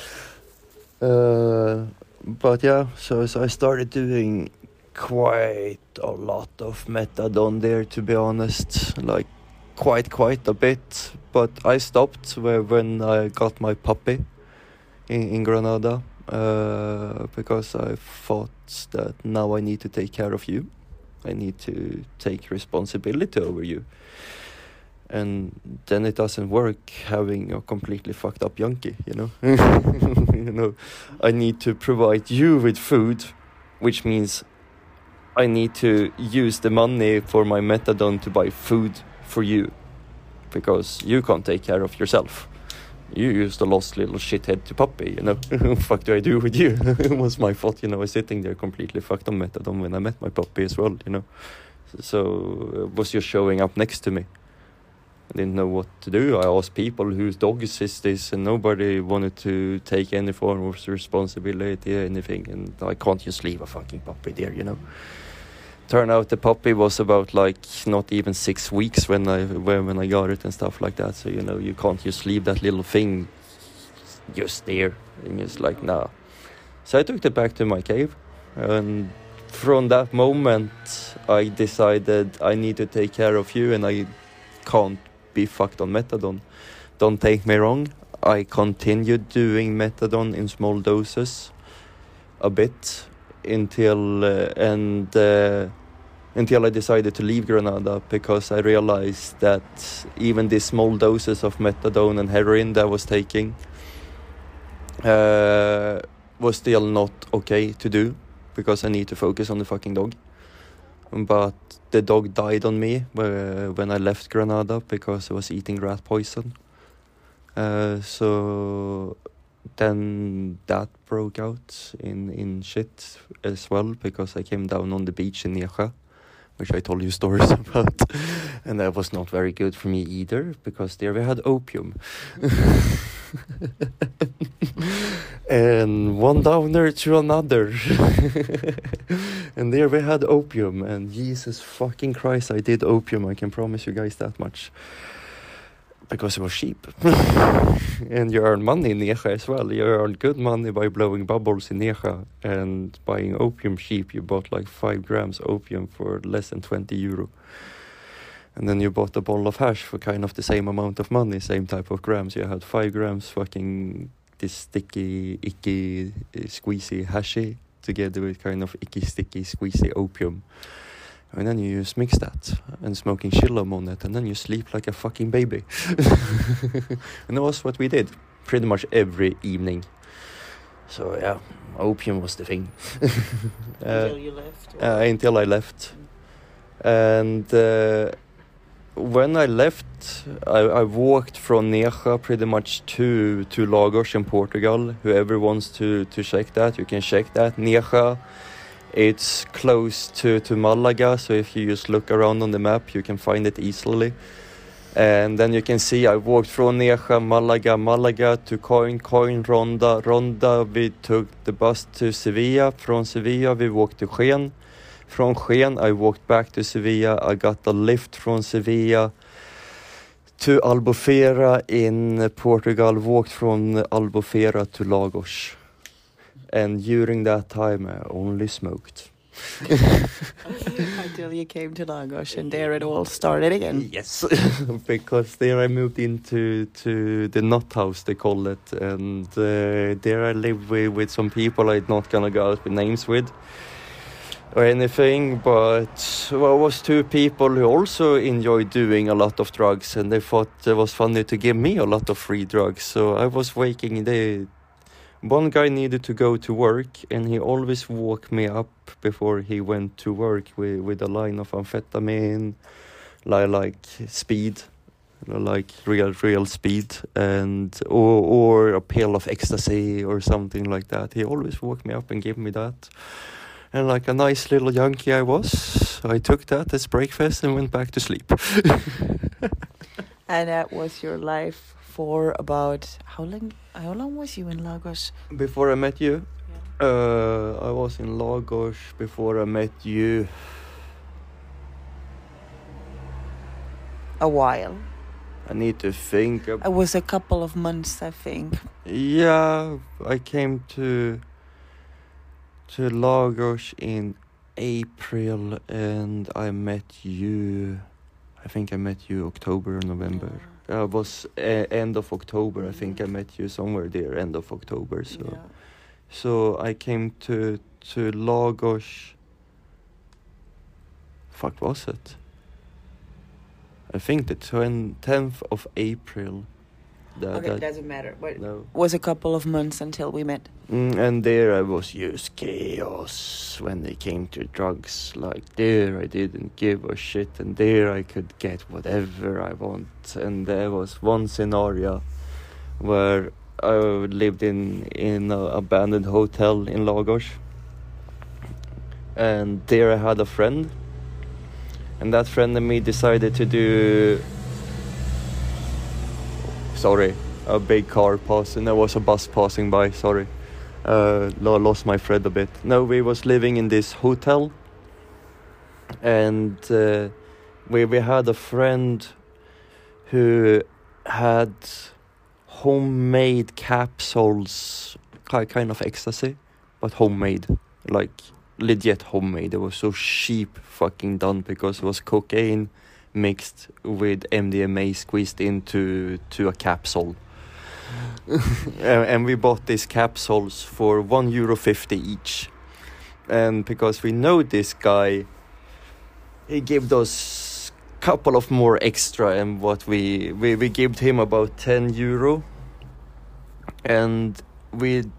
Uh, but yeah, so, so I started doing quite a lot of methadone there, to be honest. Like, quite quite a bit, but I stopped when I got my puppy in, in Granada uh, because I thought that now I need to take care of you. I need to take responsibility over you, and then it doesn't work having a completely fucked up junkie, you know. You know, I need to provide you with food, which means I need to use the money for my methadone to buy food for you, because you can't take care of yourself. You used a lost little shithead to puppy, you know. What fuck do I do with you? It was my fault, you know. I was sitting there completely fucked on methadone when I met my puppy as well, you know. So it was just showing up next to me. I didn't know what to do. I asked people whose dog is this, and nobody wanted to take any form of responsibility or anything, and I can't just leave a fucking puppy there, you know. Turned out the puppy was about like not even six weeks when I when, when I got it and stuff like that. So, you know, you can't just leave that little thing just there. And it's like, nah. So I took it back to my cave, and from that moment I decided I need to take care of you, and I can't be fucked on methadone. Don't take me wrong, I continued doing methadone in small doses a bit until uh, and uh, until I decided to leave Granada, because I realized that even these small doses of methadone and heroin that I was taking uh, was still not okay to do because I need to focus on the fucking dog. But the dog died on me uh, when I left Granada because I was eating rat poison. Uh, so then that broke out in, in shit as well because I came down on the beach in Nieja, which I told you stories about. And that was not very good for me either because there we had opium. And one downer to another. And there we had opium, and Jesus fucking Christ, I did opium, I can promise you guys that much. Because it was cheap. And you earn money in Nieja as well. You earn good money by blowing bubbles in Nieja. And buying opium cheap, you bought like five grams opium for less than twenty euro. And then you bought a bottle of hash for kind of the same amount of money, same type of grams. You had five grams fucking this sticky, icky, uh, squeezy hashy together with kind of icky, sticky, squeezy opium. And then you just mix that and smoking chillum on it, and then you sleep like a fucking baby. And that was what we did pretty much every evening. So yeah, opium was the thing. uh, Until you left? Uh, until I left. And uh, when I left, I, I walked from Nieja pretty much to, to Lagos in Portugal. Whoever wants to, to check that, you can check that. Nieja, it's close to, to Malaga, so if you just look around on the map, you can find it easily. And then you can see I walked from Nieja, Malaga, Malaga to Coin, Coin, Ronda, Ronda. We took the bus to Sevilla. From Sevilla, we walked to Jaén. From Jaén, I walked back to Sevilla. I got a lift from Sevilla to Albufeira in Portugal. Walked from Albufeira to Lagos. And during that time, I only smoked. Until you came to Lagos, and there it all started again. Yes, because there I moved into to the nut house, they call it. And uh, there I lived with, with some people I'm not gonna go out with names with or anything, but well, it was two people who also enjoyed doing a lot of drugs, and they thought it was funny to give me a lot of free drugs. So I was waking the one guy needed to go to work, and he always woke me up before he went to work with, with a line of amphetamine, like, like speed, like real real speed, and or or a pill of ecstasy or something like that. He always woke me up and gave me that. And like a nice little junkie I was, I took that as breakfast and went back to sleep. And that was your life for about how long? How long was you in Lagos? Before I met you, Yeah. uh, I was in Lagos before I met you. A while. I need to think. Ab- It was a couple of months, I think. yeah, I came to to Lagos in April, and I met you. I think I met you October or November. Yeah. Uh, it was uh, end of October. I think I met you somewhere there, end of October. So, Yeah. so I came to to Lagos. Fuck was it? I think the tenth of April. That, Okay, that, doesn't matter. But no. was a couple of months until we met. Mm, and there I was just chaos when they came to drugs. Like there I didn't give a shit, and there I could get whatever I want. And there was one scenario where I lived in in an abandoned hotel in Lagos, and there I had a friend, and that friend and me decided to do. Sorry, a big car passing. There was a bus passing by. Sorry. Uh, lost my thread a bit. No, we was living in this hotel, and uh, we we had a friend who had homemade capsules, kind of ecstasy, but homemade, like legit homemade. It was so cheap, fucking done, because it was cocaine mixed with M D M A squeezed into to a capsule. and, and we bought these capsules for one euro fifty each, and because we know this guy, he gave us a couple of more extra, and what we we we gave him about ten euro, and we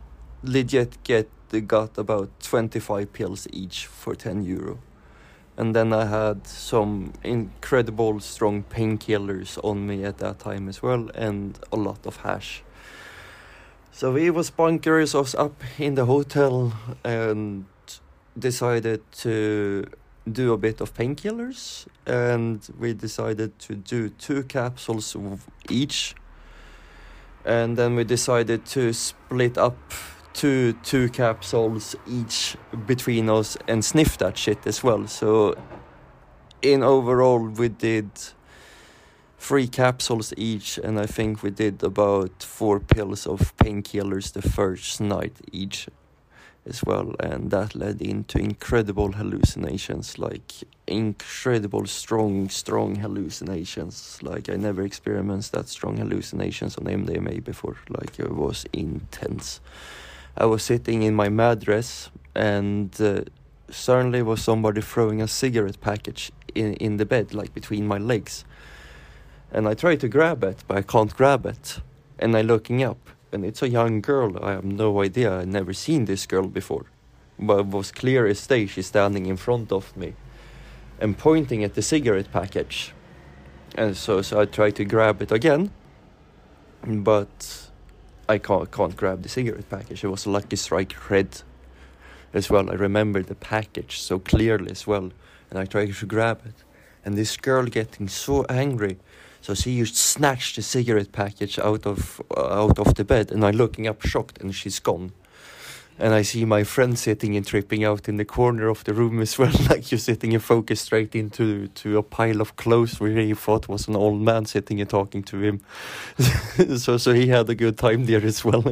legit get got about twenty-five pills each for ten euro. And then I had some incredible strong painkillers on me at that time as well, and a lot of hash. So we was bunkers us up in the hotel and decided to do a bit of painkillers, and we decided to do two capsules each, and then we decided to split up two two capsules each between us and sniff that shit as well. So in overall we did three capsules each, and I think we did about four pills of painkillers the first night each as well, and that led into incredible hallucinations, like incredible strong strong hallucinations. Like I never experienced that strong hallucinations on M D M A before. Like it was intense. I was sitting in my mattress, and uh, suddenly was somebody throwing a cigarette package in, in the bed, like between my legs. And I try to grab it, but I can't grab it. And I'm looking up, and it's a young girl. I have no idea. I've never seen this girl before. But it was clear as day. She's standing in front of me and pointing at the cigarette package. And so, so I try to grab it again, but I can't, can't grab the cigarette package. It was a Lucky Strike red as well. I remember the package so clearly as well. And I tried to grab it. And this girl getting so angry. So she just snatched the cigarette package out of uh, out of the bed. And I'm looking up shocked, and she's gone. And I see my friend sitting and tripping out in the corner of the room as well. Like you're sitting and focused straight into to a pile of clothes where he thought was an old man sitting and talking to him. so so he had a good time there as well.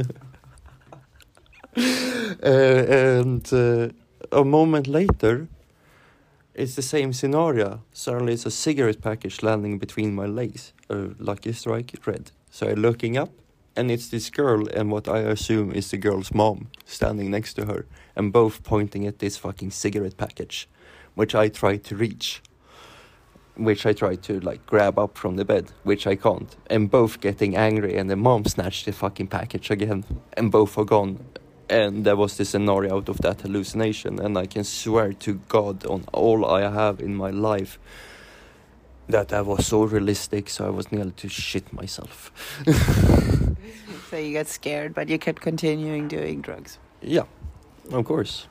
uh, and uh, a moment later, it's the same scenario. Suddenly it's a cigarette package landing between my legs. A Lucky Strike red. So I'm looking up, and it's this girl and what I assume is the girl's mom standing next to her, and both pointing at this fucking cigarette package, which I try to reach, which I try to like grab up from the bed, which I can't, and both getting angry, and the mom snatched the fucking package again, and both are gone. And there was this scenario out of that hallucination, and I can swear to God on all I have in my life that that was so realistic, so I was nearly to shit myself. So you got scared, but you kept continuing doing drugs. Yeah, of course.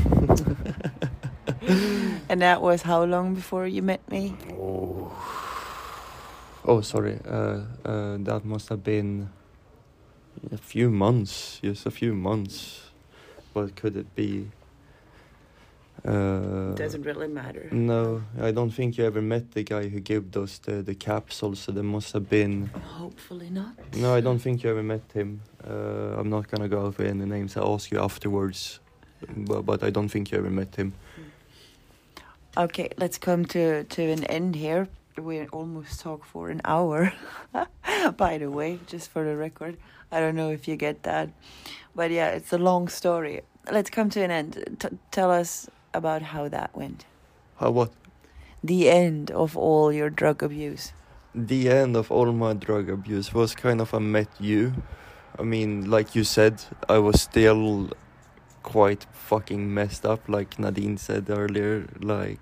And that was how long before you met me? Oh, oh sorry. Uh, uh, that must have been a few months. Yes, a few months. What could it be? Uh, Doesn't really matter. No, I don't think you ever met the guy who gave those the, the capsules, so there must have been... Hopefully not. No, I don't think you ever met him. Uh, I'm not gonna go out with any names. I'll ask you afterwards, but, but I don't think you ever met him. Okay, let's come to, to an end here. We almost talked for an hour, by the way, just for the record. I don't know if you get that. But yeah, it's a long story. Let's come to an end. T- tell us about how that went. How what? The end of all your drug abuse. The end of all my drug abuse was kind of I met you. I mean, like you said, I was still quite fucking messed up, like Nadine said earlier. Like,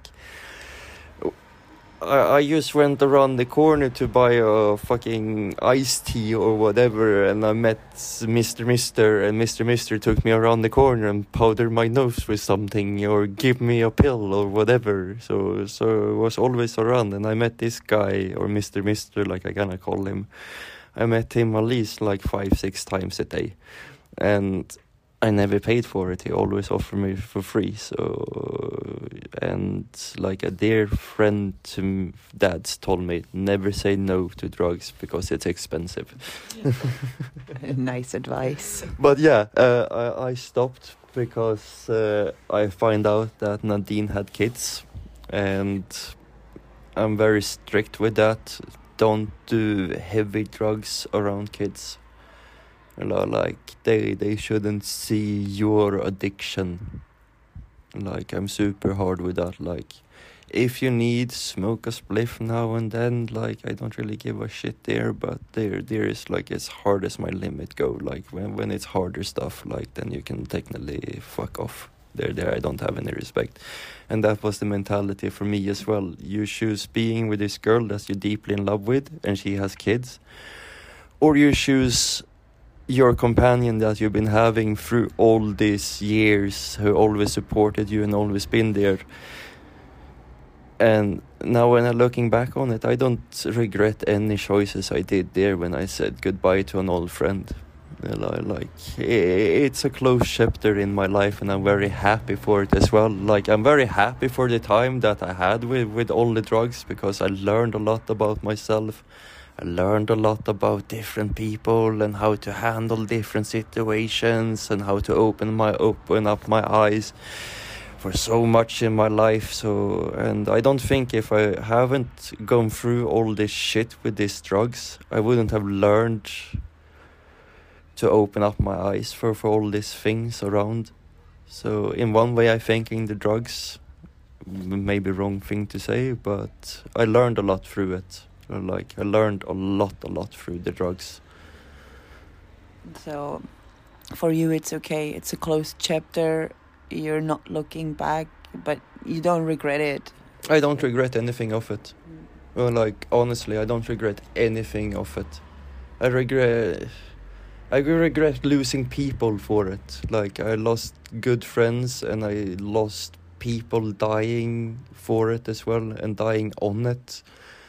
I, I just went around the corner to buy a fucking iced tea or whatever, and I met Mister Mister, and Mister Mister took me around the corner and powdered my nose with something or give me a pill or whatever. So so I was always around, and I met this guy, or Mister Mister, like I gonna call him. I met him at least like five, six times a day, and I never paid for it. He always offered me for free. So, and like a dear friend to Dad's told me, never say no to drugs because it's expensive. Nice advice. But yeah, uh, I, I stopped because uh, I find out that Nadine had kids, and I'm very strict with that. Don't do heavy drugs around kids. Like, they, they shouldn't see your addiction. Like, I'm super hard with that. Like, if you need, smoke a spliff now and then. Like, I don't really give a shit there, but there there is like as hard as my limit go. Like when when it's harder stuff, like then you can technically fuck off. There there I don't have any respect. And that was the mentality for me as well. You choose being with this girl that you're deeply in love with and she has kids, or you choose your companion that you've been having through all these years, who always supported you and always been there. And now when I'm looking back on it, I don't regret any choices I did there when I said goodbye to an old friend. Like, it's a closed chapter in my life, and I'm very happy for it as well. Like, I'm very happy for the time that I had with, with all the drugs, because I learned a lot about myself. I learned a lot about different people and how to handle different situations and how to open my open up my eyes for so much in my life. So, and I don't think if I haven't gone through all this shit with these drugs, I wouldn't have learned to open up my eyes for, for all these things around. So in one way, I thanking the drugs, maybe wrong thing to say, but I learned a lot through it. Like, I learned a lot, a lot through the drugs. So, for you, it's okay. It's a closed chapter. You're not looking back, but you don't regret it. I don't regret anything of it. Well, like, honestly, I don't regret anything of it. I regret... I regret losing people for it. Like, I lost good friends and I lost people dying for it as well and dying on it.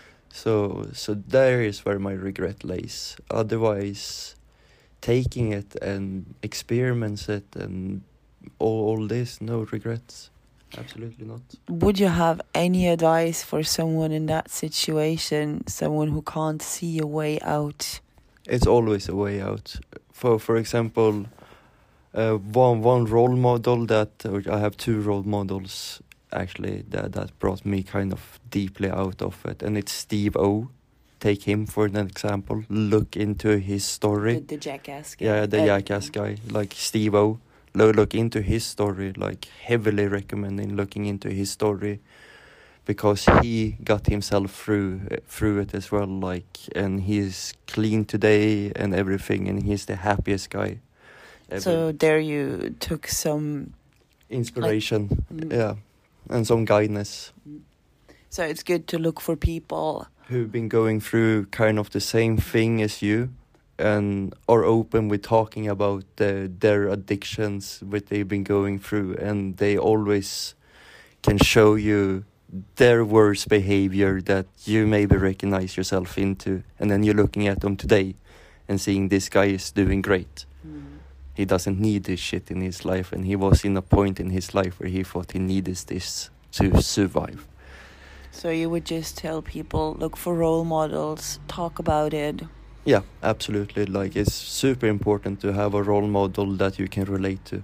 So so there is where my regret lays. Otherwise, taking it and experiments it and all, all this, no regrets. Absolutely not. Would you have any advice for someone in that situation, someone who can't see a way out? It's always a way out. For for example, uh, one one role model that, or I have two role models actually that that brought me kind of deeply out of it, and it's Steve O. Take him for an example. Look into his story. The, the jackass guy. Yeah, the uh, jackass guy, like Steve O. Look, look into his story. Like, heavily recommending looking into his story, because he got himself through through it as well. Like, and he's clean today and everything, and he's the happiest guy ever. So there you took some Inspiration, like, mm. yeah, and some guidance. So it's good to look for people Who've been going through kind of the same thing as you, and are open with talking about the, their addictions, what they've been going through, and they always can show you their worst behavior that you maybe recognize yourself into, and then you're looking at them today and seeing this guy is doing great. Mm. He doesn't need this shit in his life, and he was in a point in his life where he thought he needed this to survive. So you would just tell people, look for role models, talk about it. Yeah, absolutely. Like, it's super important to have a role model that you can relate to.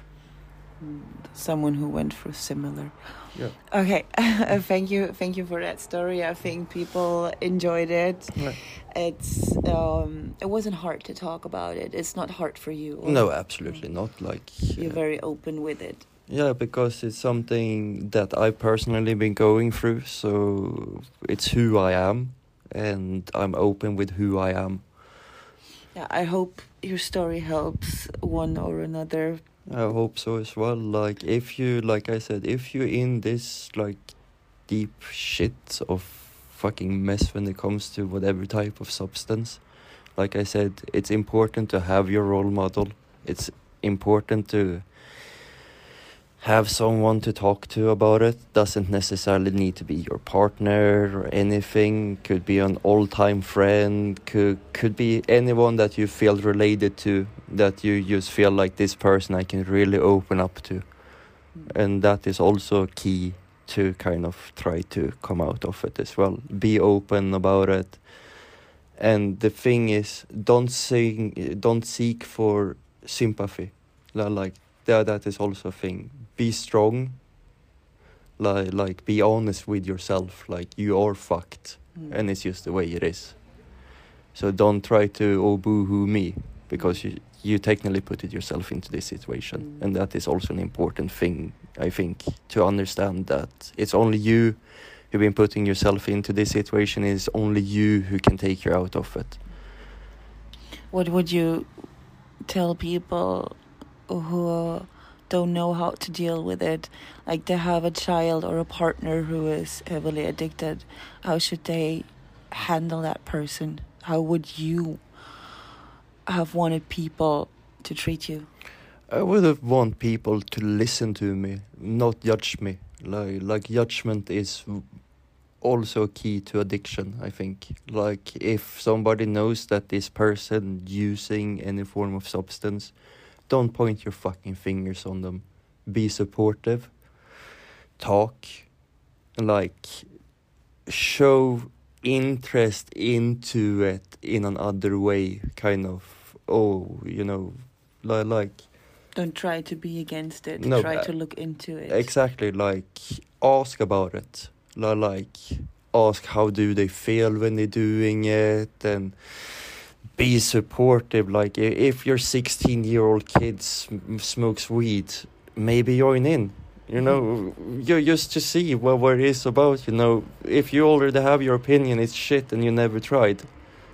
Someone who went through similar. Yeah. Okay, thank you, thank you for that story. I think people enjoyed it. Yeah. It's um, it wasn't hard to talk about it. It's not hard for you. Or No, absolutely not. Like, you're uh, very open with it. yeah, because it's something that I've personally been going through. So it's who I am, and I'm open with who I am. Yeah, I hope your story helps one or another. I hope so as well. Like, if you, like I said, if you're in this, like, deep shit of fucking mess when it comes to whatever type of substance, like I said, it's important to have your role model. It's important to have someone to talk to about it. Doesn't necessarily need to be your partner or anything. Could be an all-time friend. Could could be anyone that you feel related to, that you just feel like this person I can really open up to. And that is also key to kind of try to come out of it as well. Be open about it. And the thing is, don't sing, don't seek for sympathy. Like, that, that is also a thing. Be strong. Like, like be honest with yourself. Like, you are fucked, Mm. and it's just the way it is. So don't try to oh boo-hoo me, because you you technically put it yourself into this situation, Mm. and that is also an important thing I think, to understand that it's only you who've been putting yourself into this situation. It's only you who can take you out of it. What would you tell people who don't know how to deal with it? Like they have a child or a partner who is heavily addicted. How should they handle that person? How would you have wanted people to treat you? I would have want people to listen to me, not judge me. Like, like judgment is also key to addiction, I think. Like, if somebody knows that this person using any form of substance, don't point your fucking fingers on them. Be supportive. Talk. Like, show interest into it in another way, kind of. Oh, you know, li- like... Don't try to be against it. No, try uh, to look into it. Exactly, like, ask about it. Li- Like, ask how do they feel when they're doing it, and be supportive. Like, i- if your sixteen-year-old kid sm- smokes weed, maybe join in. You know, you just to see what, what it is about, you know. If you already have your opinion, it's shit, and you never tried,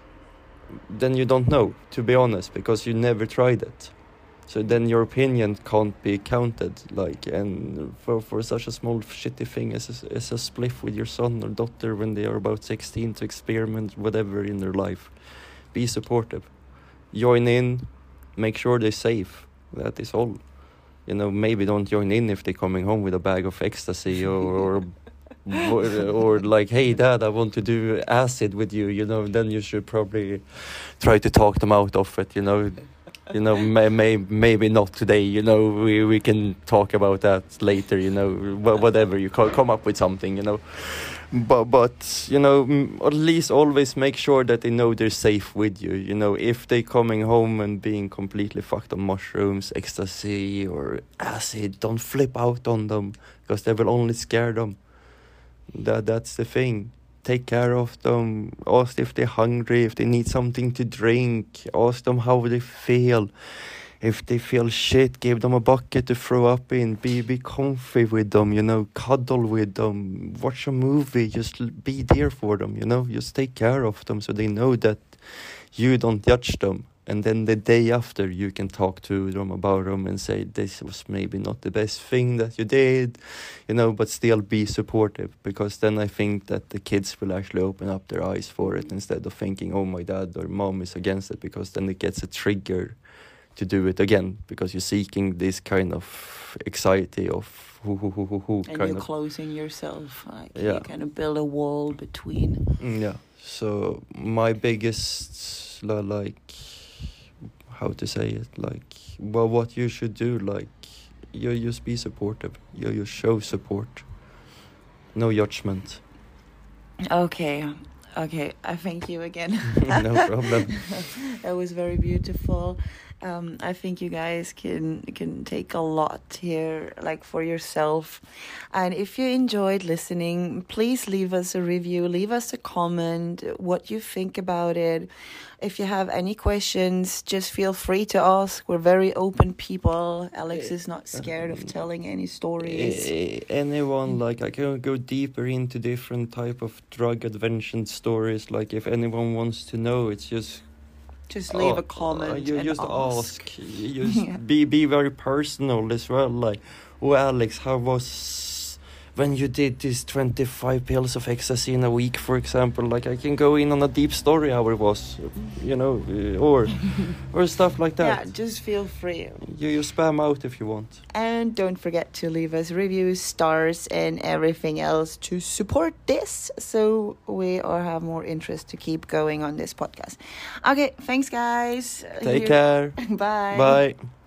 then you don't know, to be honest, because you never tried it. So then your opinion can't be counted, like, and for, for such a small shitty thing as a, as a spliff with your son or daughter when they are about sixteen to experiment whatever in their life. Be supportive. Join in, make sure they're safe. That is all. You know, maybe don't join in if they're coming home with a bag of ecstasy or, or, or, or like, hey, Dad, I want to do acid with you, you know, then you should probably try to talk them out of it, you know. You know, may, may, maybe not today, you know, we, we can talk about that later, you know, wh- whatever, you co- come up with something, you know. But, but you know, m- at least always make sure that they know they're safe with you, you know. If they're coming home and being completely fucked on mushrooms, ecstasy or acid, don't flip out on them, because they will only scare them. That That's the thing. Take care of them, ask if they're hungry, if they need something to drink, ask them how they feel. If they feel shit, give them a bucket to throw up in, be be comfy with them, you know, cuddle with them, watch a movie, just l- be there for them, you know, just take care of them so they know that you don't judge them. And then the day after you can talk to them about them and say, this was maybe not the best thing that you did, you know, but still be supportive, because then I think that the kids will actually open up their eyes for it instead of thinking, oh, my dad or mom is against it, because then it gets a trigger to do it again, because you're seeking this kind of anxiety of who, who, who, who, who And kind you're of. closing yourself. Like Yeah. you kind of build a wall between. Mm, Yeah. So my biggest, li- like, how to say it, like, well, what you should do, like, you just be supportive. You you show support. No judgment. Okay. Okay. I thank you again. No problem. That was very beautiful. Um, I think you guys can can take a lot here, like for yourself. And if you enjoyed listening, please leave us a review, leave us a comment, what you think about it. If you have any questions, just feel free to ask. We're very open people. Alex is not scared of telling any stories. Eh, anyone, like, I can go deeper into different type of drug adventure stories. Like, if anyone wants to know, it's just Just leave Oh, a comment uh, you and just ask. ask. You just Yeah. be be very personal as well. Like, oh, Alex, how was when you did this twenty-five pills of ecstasy in a week, for example? Like, I can go in on a deep story how it was, you know, uh, or or stuff like that. Yeah, just feel free. You you spam out if you want. And don't forget to leave us reviews, stars, and everything else to support this, so we all have more interest to keep going on this podcast. Okay, thanks, guys. Take You- care. Bye. Bye.